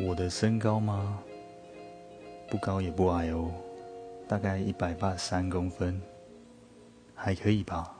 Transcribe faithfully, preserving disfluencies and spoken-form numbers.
我的身高吗？不高也不矮哦，大概一百八十三公分，还可以吧。